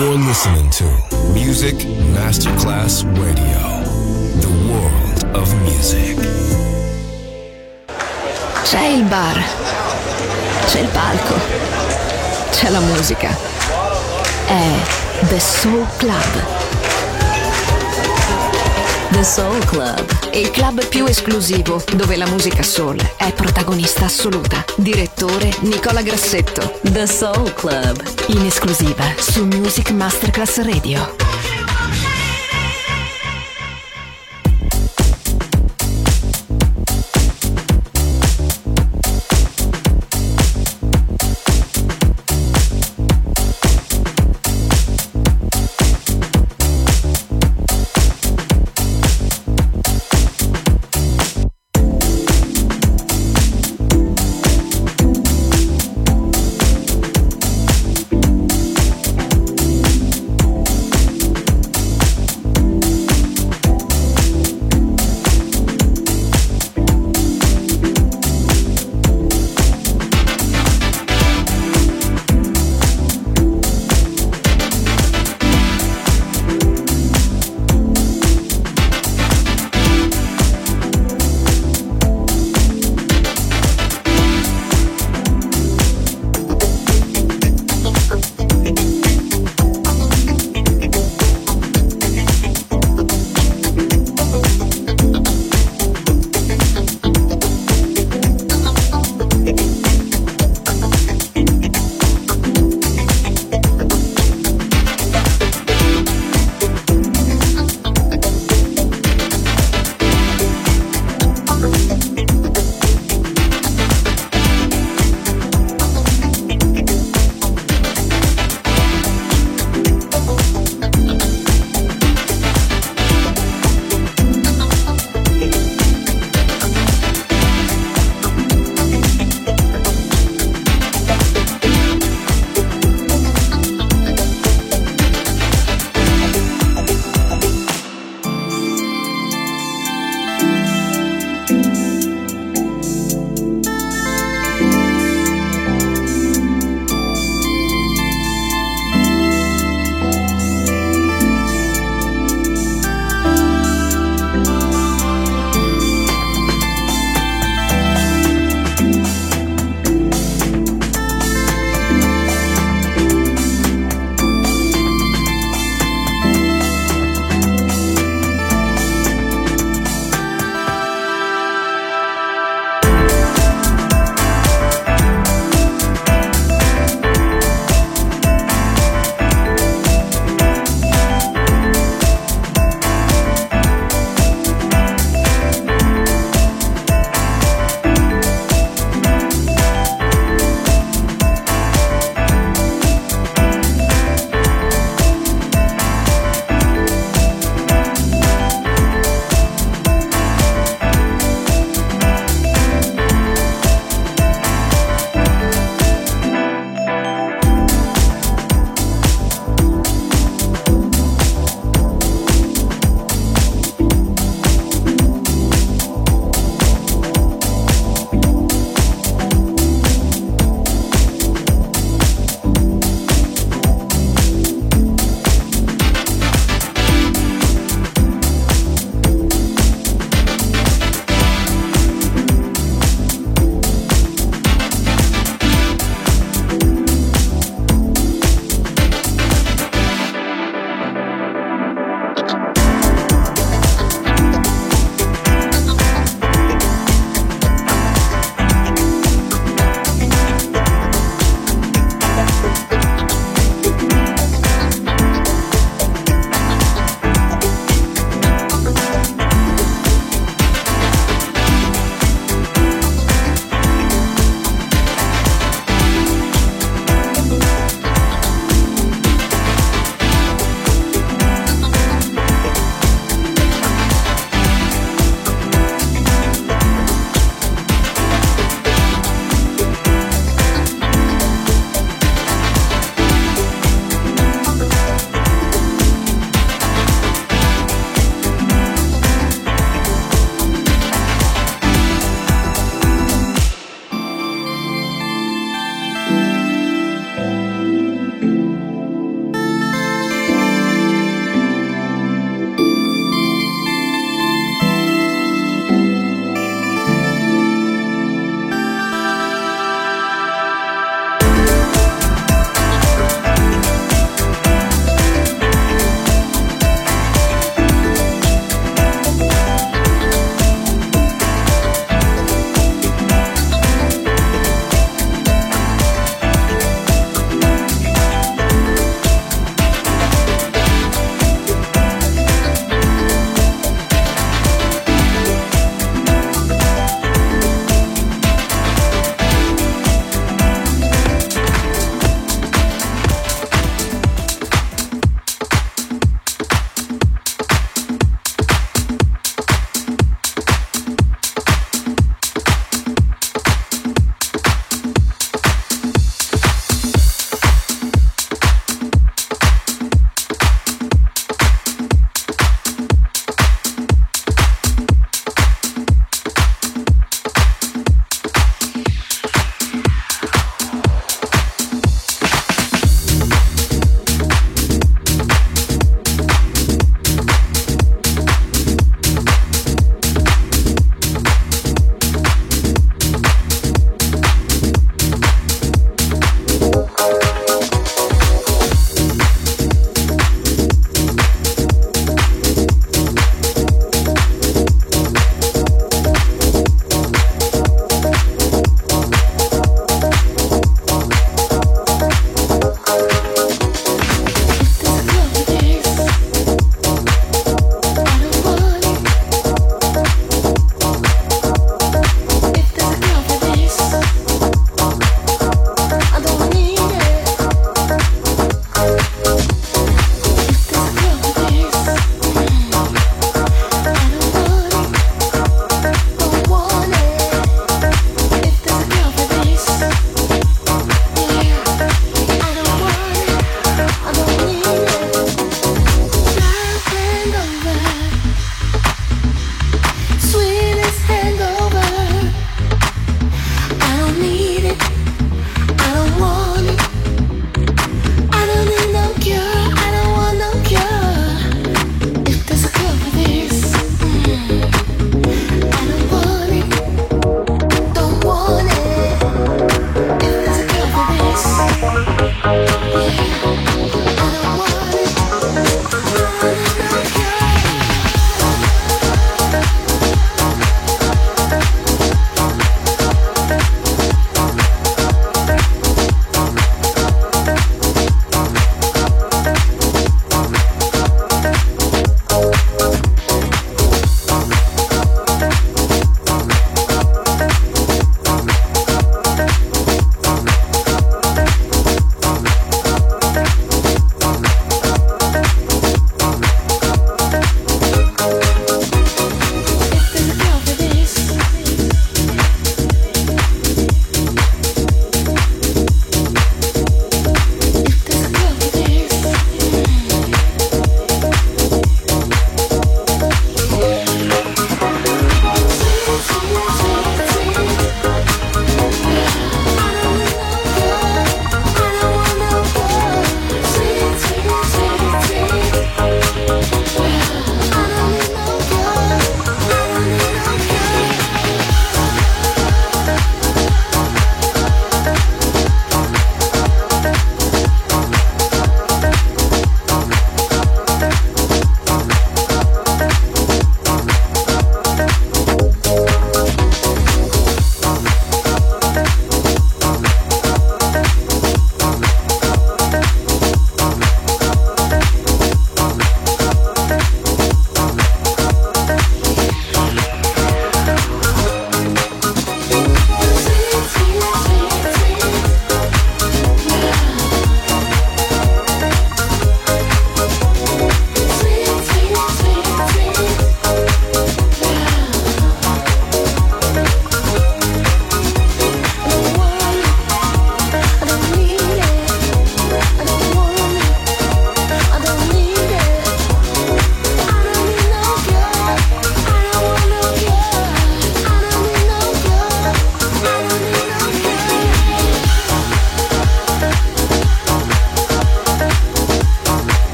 You're listening to Music Masterclass Radio, the world of music. C'è il bar, c'è il palco, c'è la musica. È The Soul Club. The Soul Club, il club più esclusivo dove la musica soul è protagonista assoluta. Direttore Nicola Grassetto. The Soul Club, in esclusiva su Music Masterclass Radio.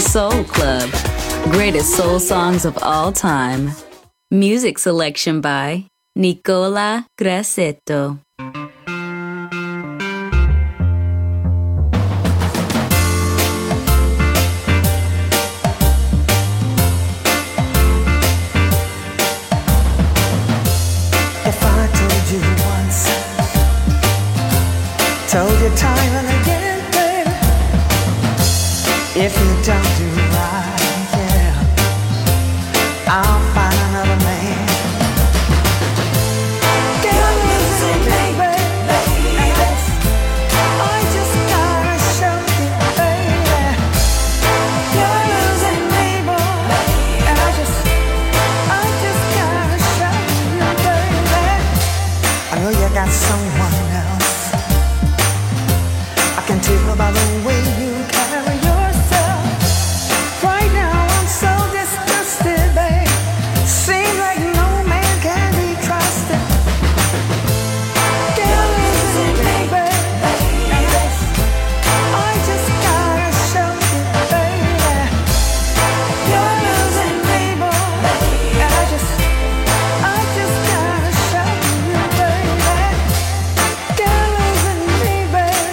Soul Club. Greatest soul songs of all time. Music selection by Nicola Grassetto. Told you time and again, baby, if you don't do right, yeah, I'll find another man. Girl, listen, baby, I just gotta show you, baby. You're losing me, boy, and I just gotta show you, baby. I know you got someone else. I can tell by the way you carry yourself. Right now I'm so disgusted, babe. Seems like no man can be trusted. Girl, listen, baby, I just gotta show you, baby. You're losing me, boy, and I just gotta show you, baby. Girl, losing me, baby.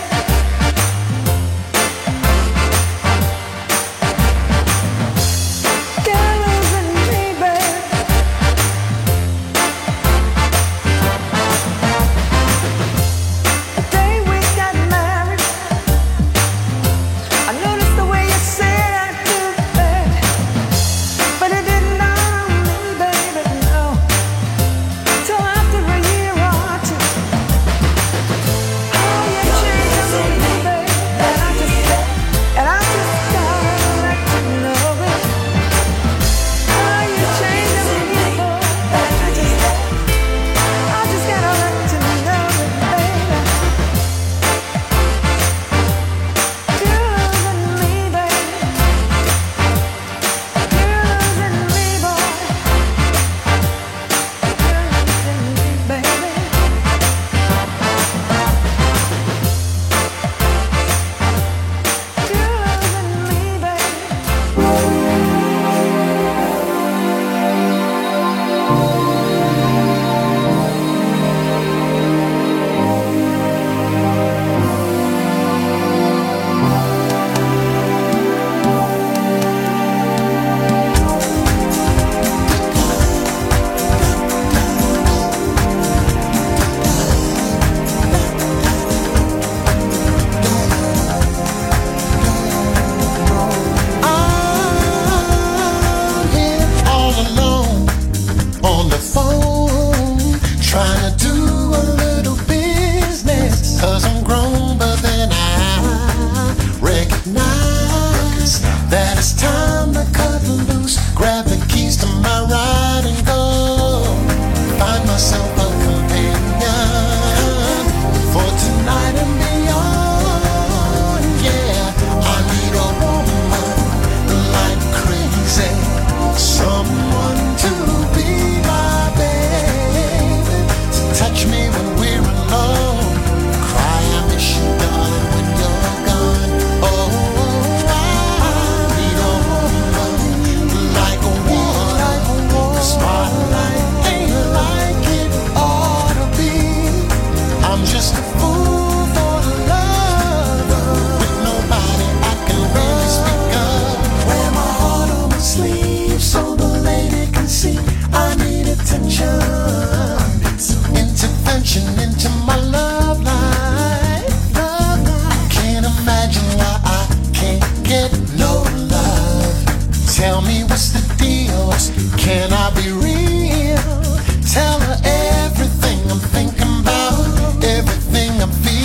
Everything I'm thinking about, everything I'm feeling.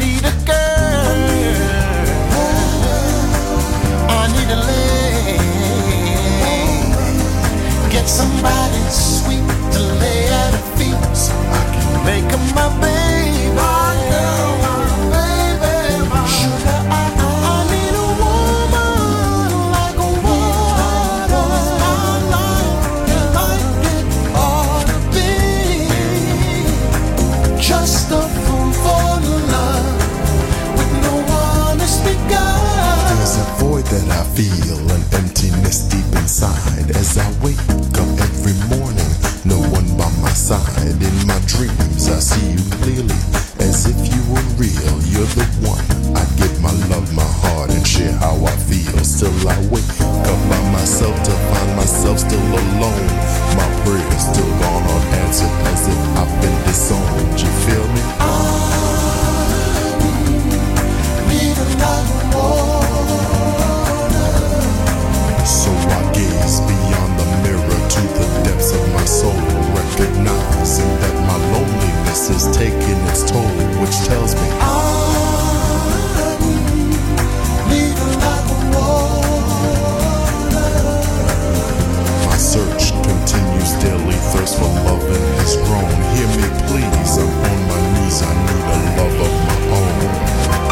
need a girl. I need a lady. Get somebody sweet to lay at her feet so I can make her my baby. My girl, my baby, my sugar. I need a woman like a water. Like it ought to be. Just a fool for love with no one to speak of. There's a void that I feel, an emptiness deep inside. As I wake up every morning, no one by my side. In my dreams I see you clearly, as if you were real. You're the one. I give my love, my heart, and share how I feel. Still I wake up by myself to find myself still alone. My prayers still gone unanswered, as if I've been disowned. You feel me? I need a lot more. So I gaze beyond the mirror to the depths of my soul, recognizing that my loneliness is taking its toll, which tells me I need a lot more. My search continues daily, thirst for loving has grown. Hear me please, I'm on my knees, I need a love of my own.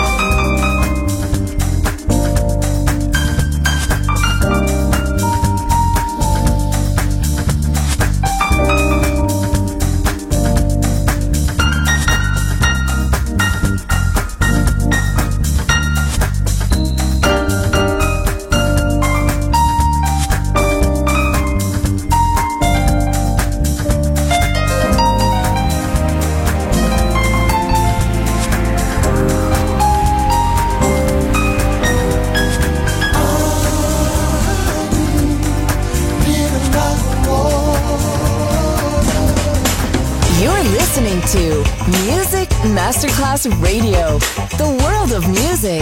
To Music Masterclass Radio, the world of music.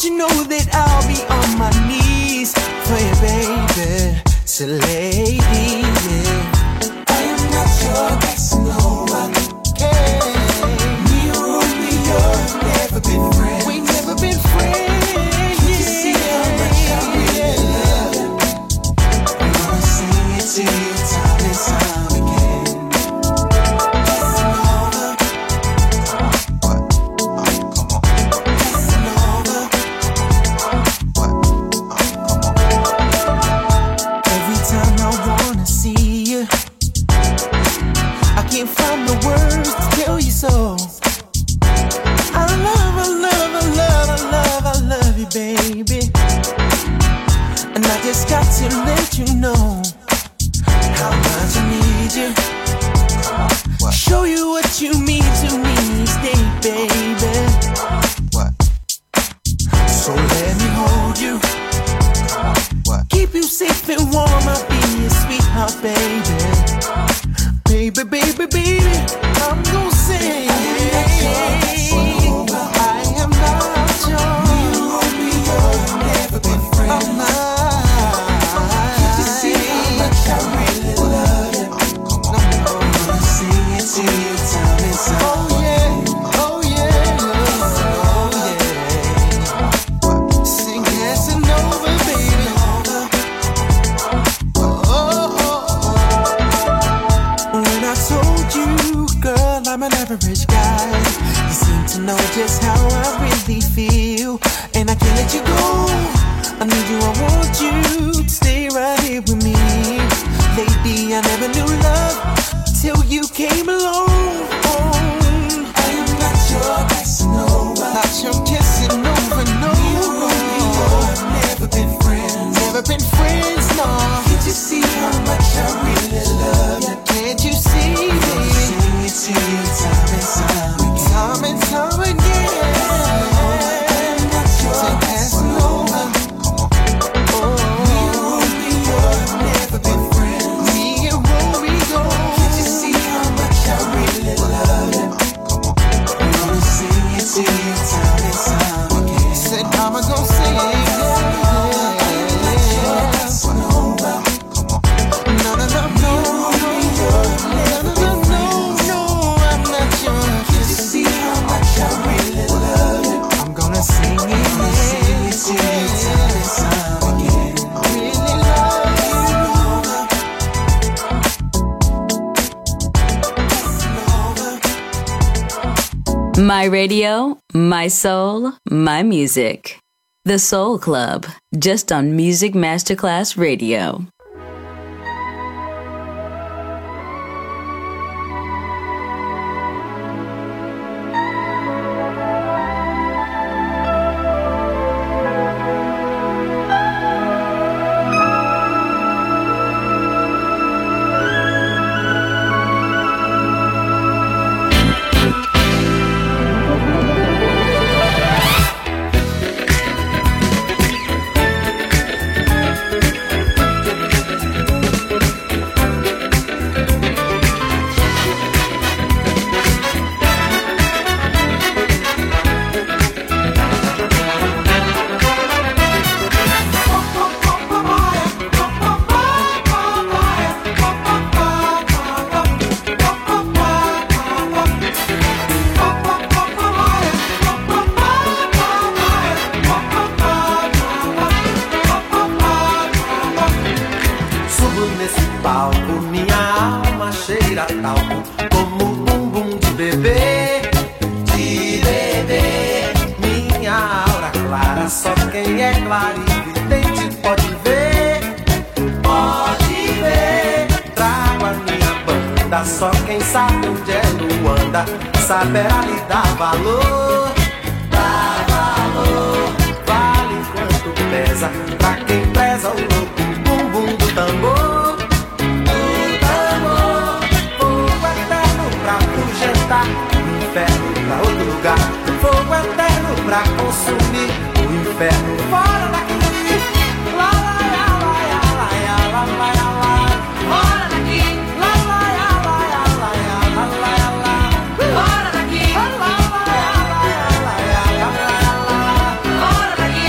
you know that I'll be on my knees for you, baby. So lady, yeah. I am not your Casanova. Hey, me or Romeo have never been friends. We never been friends. Can't you see how much I really love you? I'm gonna sing it to you time and time again. Casanova. What? Come on. Casanova. What? Come on. Every time I wanna see you, I can't find the words to tell you so. I love you, baby. And I just got to let you know how much I need you. What? Show you what you mean to me each day, baby. What? So let me hold you, What? keep you safe and warm. I'll be your sweetheart, baby. Baby, baby, baby, I'm gonna sing. I am not your Romeo, never been friends. I'm not. Can't you see how much I really love you? I'm gonna sing it to you time and time. Oh yeah, oh yeah, oh yeah. Sing Casanova, baby. When I told you, girl, I'm an average guy, you seem to know just how I really feel, and I can't let you go. I need you, I want you to stay right here with me. Lady, I never knew love till you came along. I am not your Casanova, not your Casanova, no. Never been friends, never been friends, no. Can't you see how much I really love you? Can't you see, baby? Sing it to you time and time again. Time and time again. I'm not your Casanova. Me and Romeo have never been friends. Me and Romeo. Can't you see how much I really love you? I'm gonna sing it to you time and time again. Said I'm gonna sing it. My radio, my soul, my music. The Soul Club, just on Music Masterclass Radio. Só quem sabe onde é Luanda saberá lhe dar valor. Dá valor, vale quanto pesa pra quem preza o louco bumbum do tambor. Do tambor, fogo eterno pra afugentar, o inferno pra outro lugar. Fogo eterno pra consumir, o inferno fora daqui. Lá, lá, lá, lá, lá, lá, lá, lá, lá, lá. Fora daqui. Lá, lá, lá, lá, lá, lá, lá, lá, lá. Fora daqui. Lá, lá, lá, lá, lá, lá, lá, lá, lá. Fora daqui.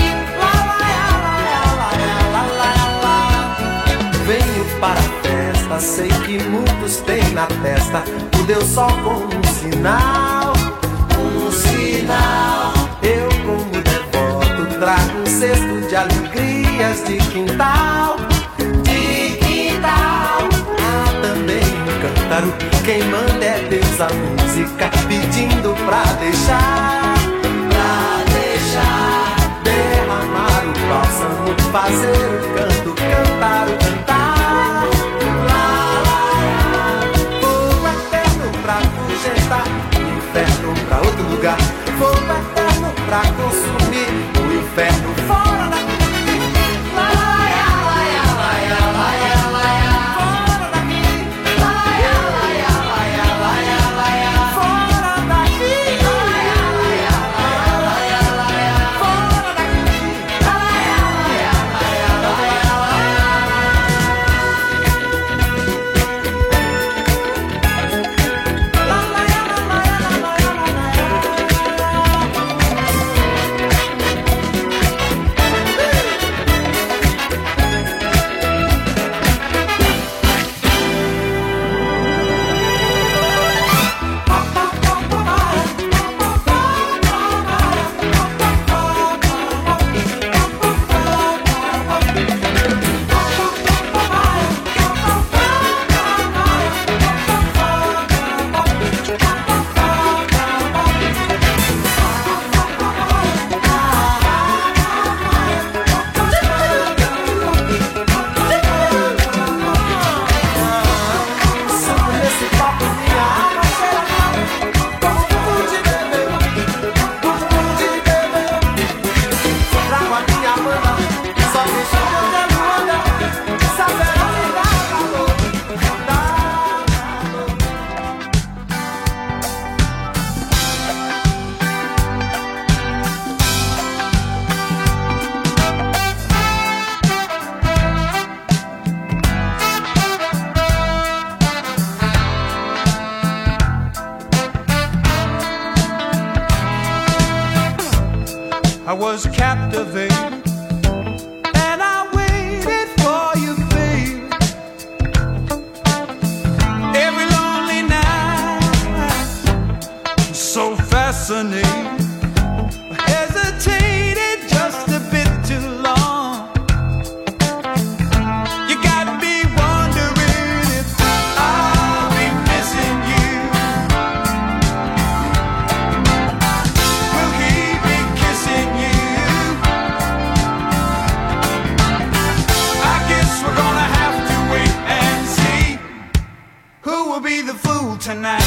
todos têm na testa o Deus Sol como um sinal. Um sinal. Eu como devoto trago um cesto de alegrias de quintal. De quintal. Há também um cântaro, quem manda é Deus a música, pedindo pra deixar. Pra deixar. Derramar o bálsamo, fazer o canto, cantar o cantar. Lá, lá, lá. Fogo eterno pra fugentar, o inferno pra outro lugar. Fogo eterno pra consumir o inferno fora daqui. Lá, lá, lá, lá, lá, lá, lá, lá. Fora daqui. Lá, lá, lá, lá, lá, lá, lá. Fora daqui. Lá, lá, lá, lá, lá, lá. Fora daqui. Lá, lá, lá, lá, lá, lá. I was captivated, and I waited for you, babe. Every lonely night, so fascinating. I hesitated just a bit too long. You got me wondering if I'll be missing you. Will he be kissing you? I guess we're gonna have to wait and see who will be the fool tonight.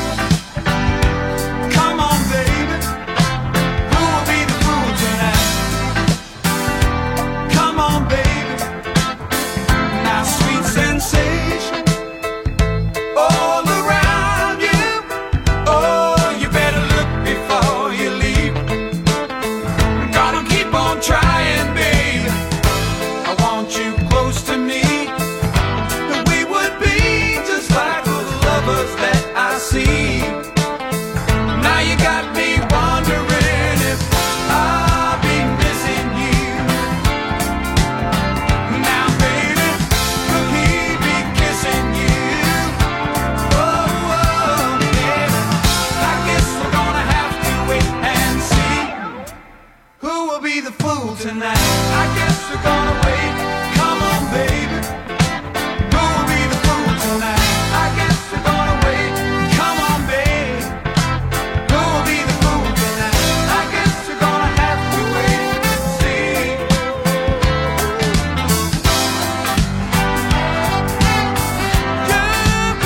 Come on, baby. Who will be the fool tonight? Come on, baby. Now, sweet sensation all around you. Oh, you better look before you leave. Gonna keep on trying, baby. I want you close to me. We would be just like those lovers that I see. Now you got me wondering if I'll be missing you. Now, baby, will he be kissing you? Oh, oh, baby, I guess we're gonna have to wait and see who will be the fool tonight. I guess we're gonna wait. Come on, baby. Who will be the fool tonight? I guess we're gonna wait. Come on, babe. Who will be the fool tonight? I guess we're gonna have to wait and see. Yeah,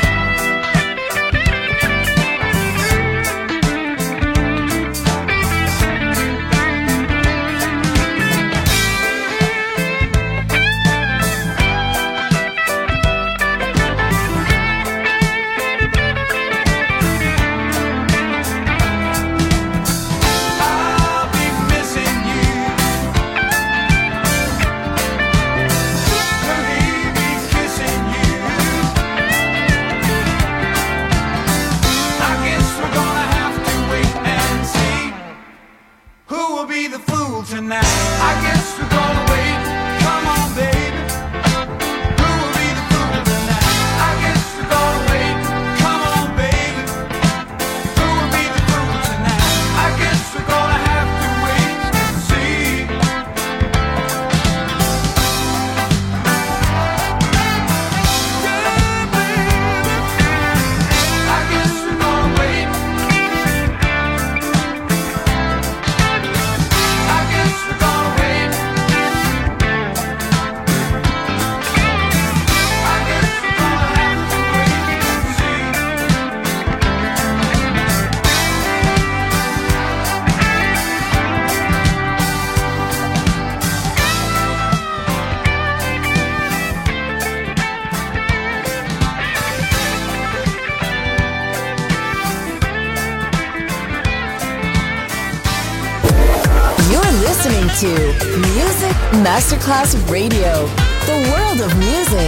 baby. listening to Music Masterclass Radio, the world of music.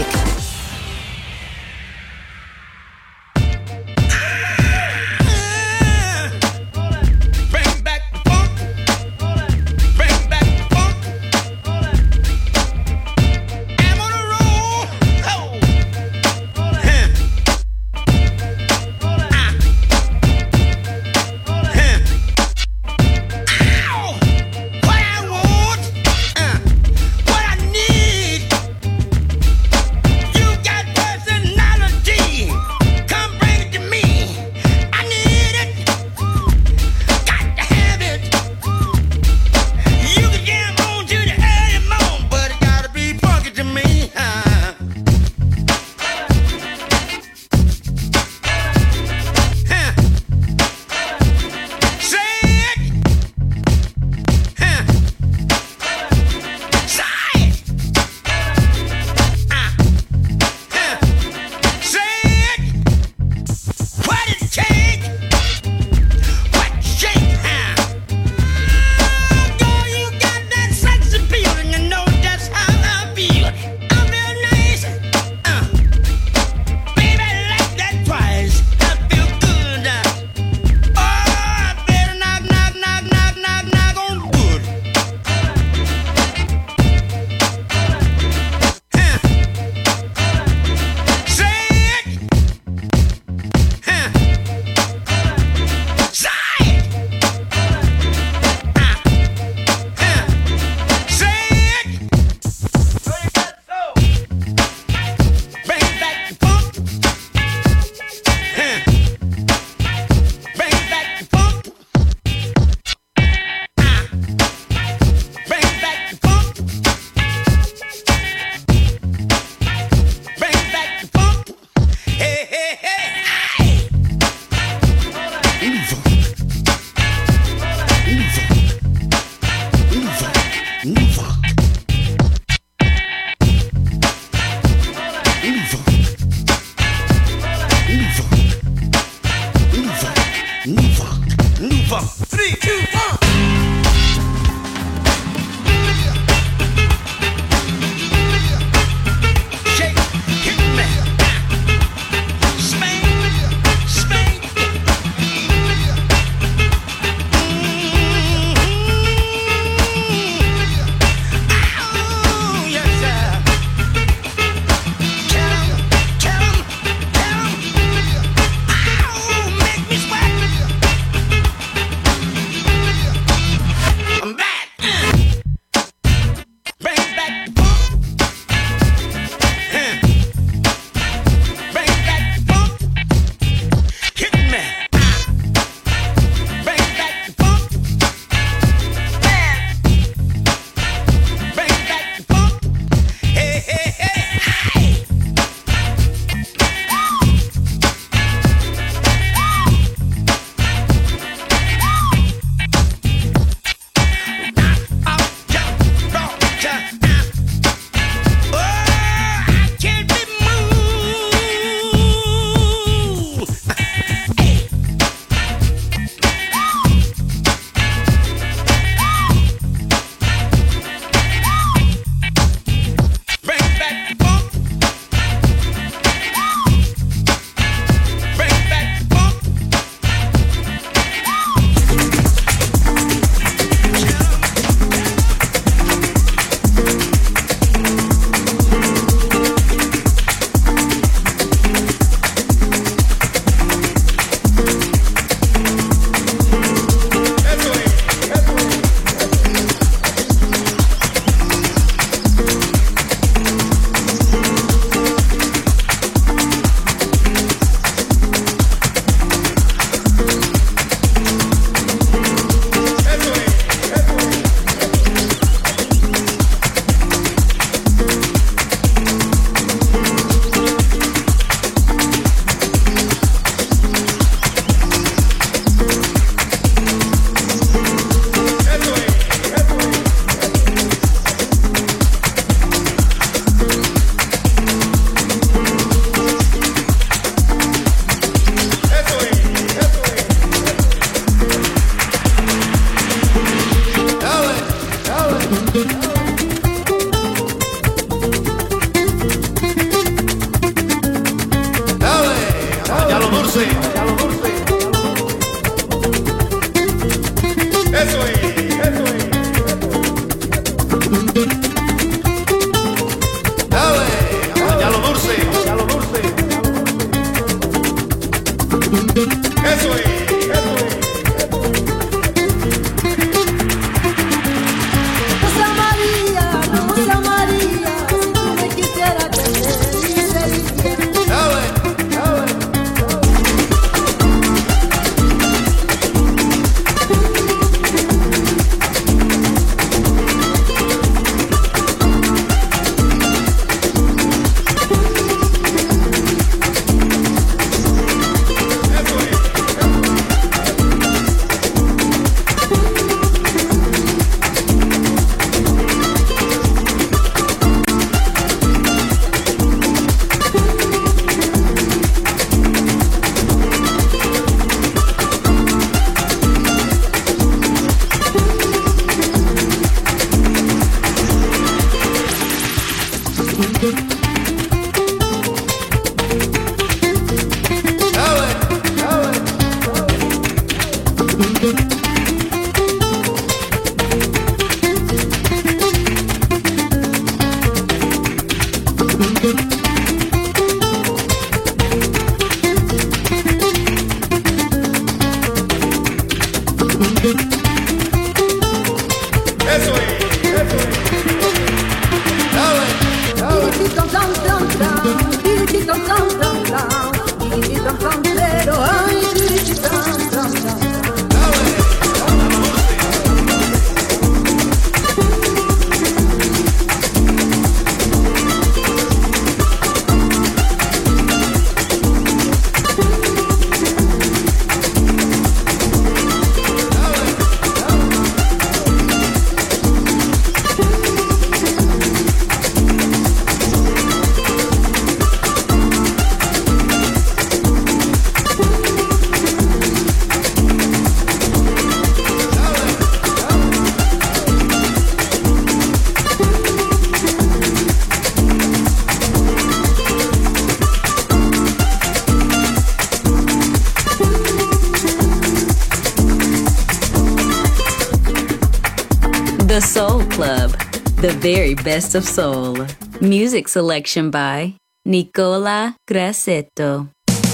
The Soul Club, the very best of soul. Music selection by Nicola Grassetto.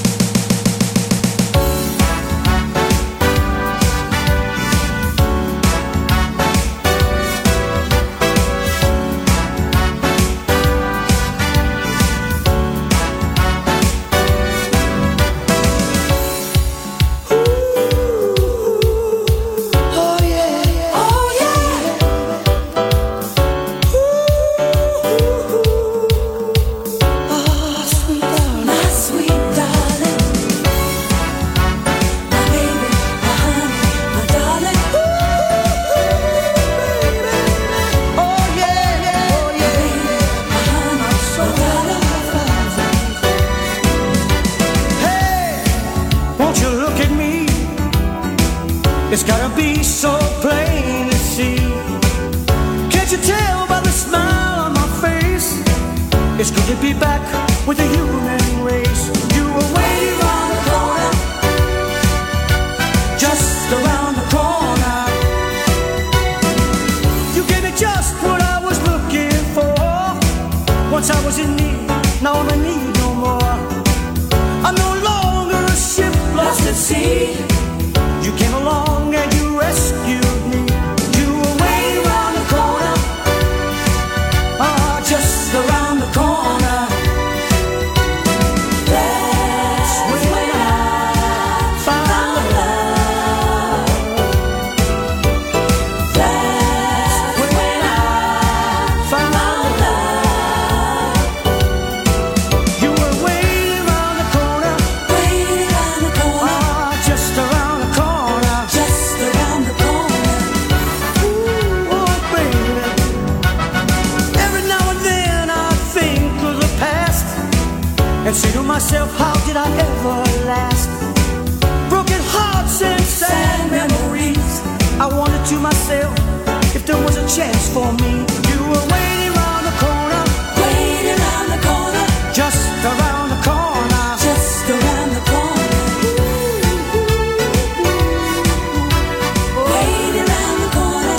It's gotta be so plain to see. Can't you tell by the smile on my face? It's good to be back with the human race. You were waiting around the corner, just around the corner. You gave me just what I was looking for. Once I was in need, now I'm in need no more. I'm no longer a ship lost at sea. You came along and you rescued me. You were way around the corner, just around the corner. That's when I found love. That's when I found love. You were way around the corner, just around the corner. And say to myself, how did I ever last? Broken hearts and sad memories. I wondered to myself if there was a chance for me. You were waiting around the corner, waiting around the corner, just around the corner, just around the corner. Waiting around the corner.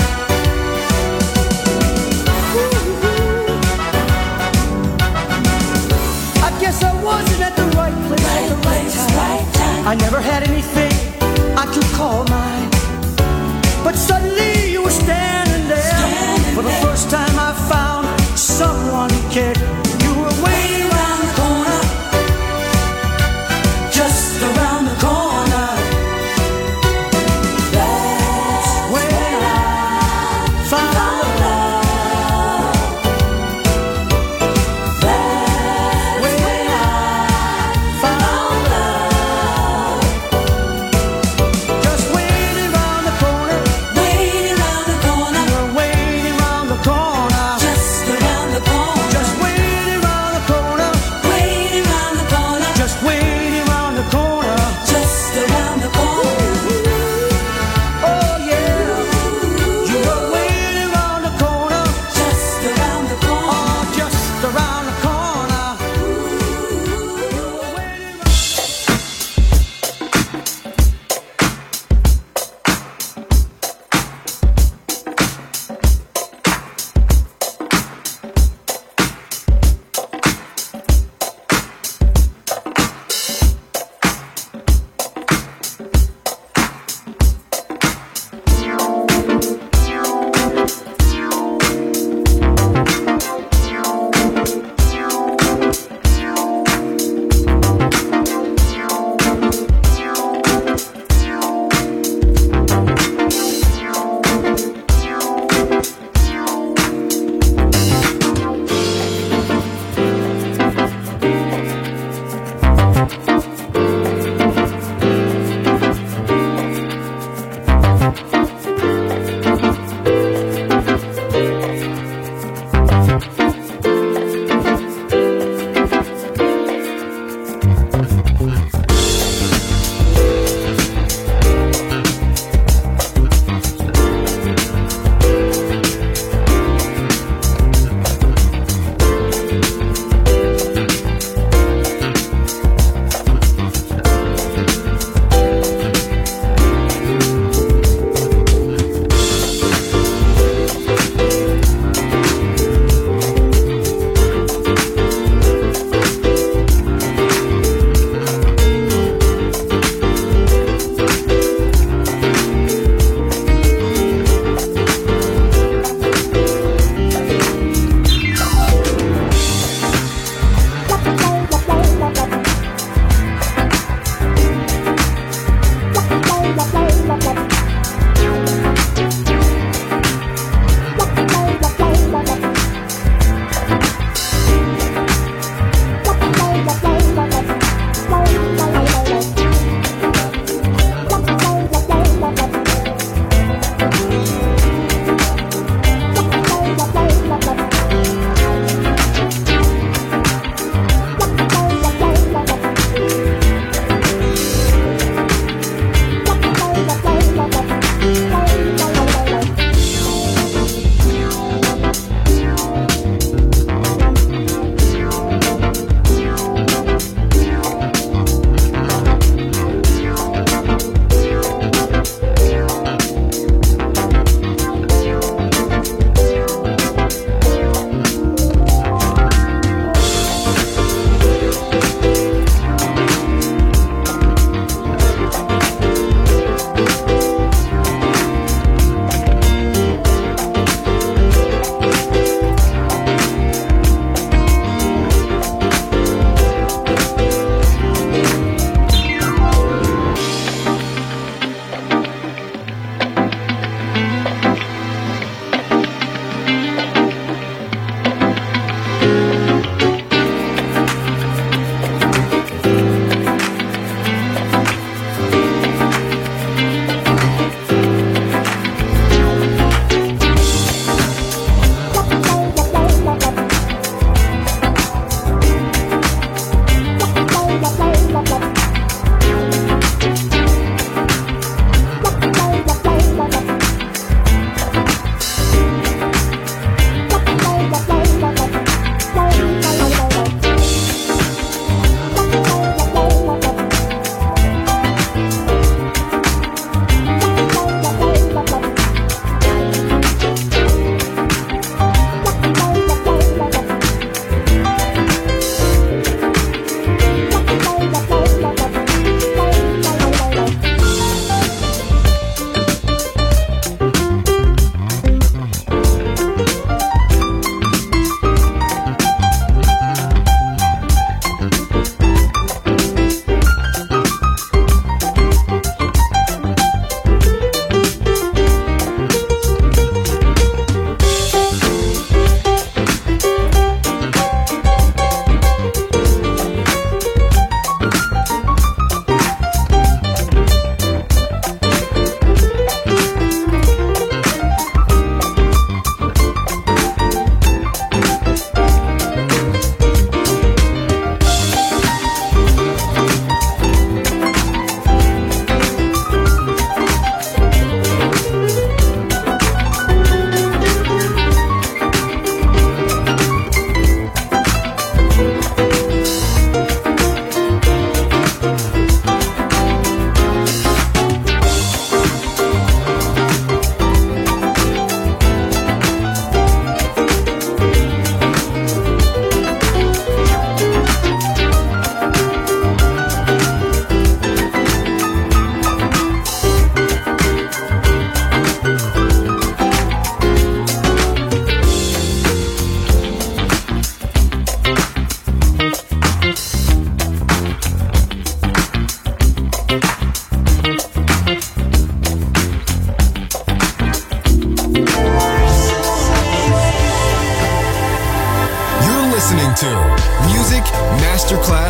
I guess I wasn't at the right place, at the right time. I never had anything I could call mine. But suddenly you were standing there. For the first time I found someone who cared. You were waiting around the corner, just around the corner. That's when I found love. That's when I found love. Just when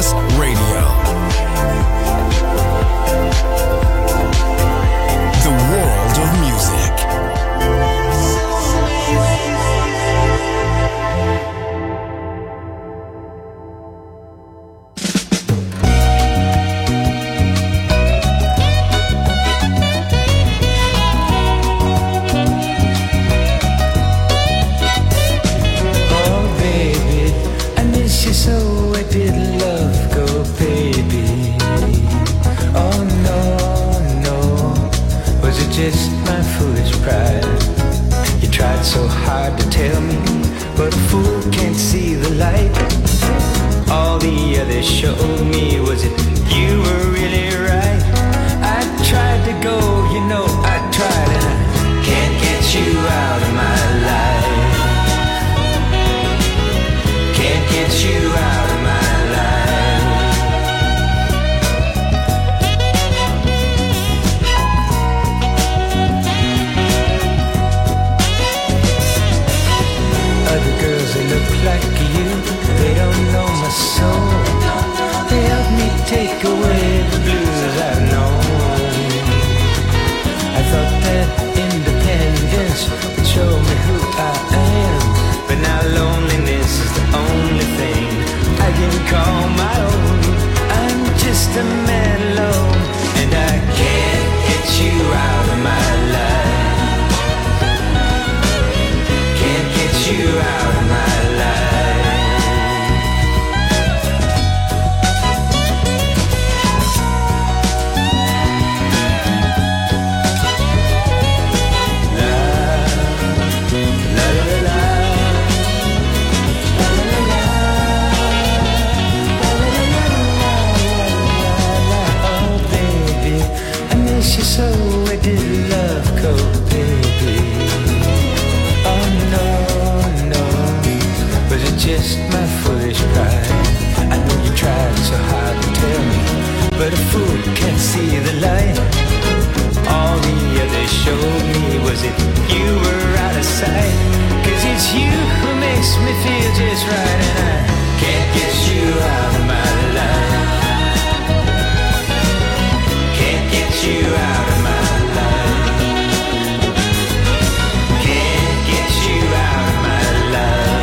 Masterclass Radio. The world of music. Just my foolish pride. You tried so hard to tell me, but a fool can't see the light. All the others showed me, was it you were really right? I tried to go, you know I tried, and I can't get you out of my life. Can't get you out of my life. They look like you, they don't know my soul. They help me take away the blues I've known. I thought that independence would show me who I am, but now loneliness is the only thing I can call my own. I'm just a man alone, and I can't get you out of my life. Can't get you out of my life. So where did love go, baby? Oh no, no, was it just my foolish pride? I know you tried so hard to tell me, but a fool can't see the light. All the others showed me, was it you were out of sight? 'Cause it's you who makes me feel just right, and I can't get you out of my life. Can't get you out of my life. Can't get you out of my life.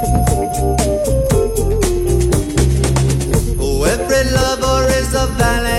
Every lover is a valiant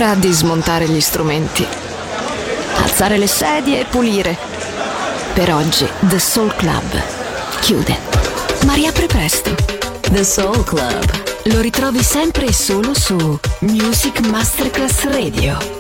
ora di smontare gli strumenti, alzare le sedie e pulire. Per oggi The Soul Club chiude, ma riapre presto. The Soul Club. Lo ritrovi sempre e solo su Music Masterclass Radio.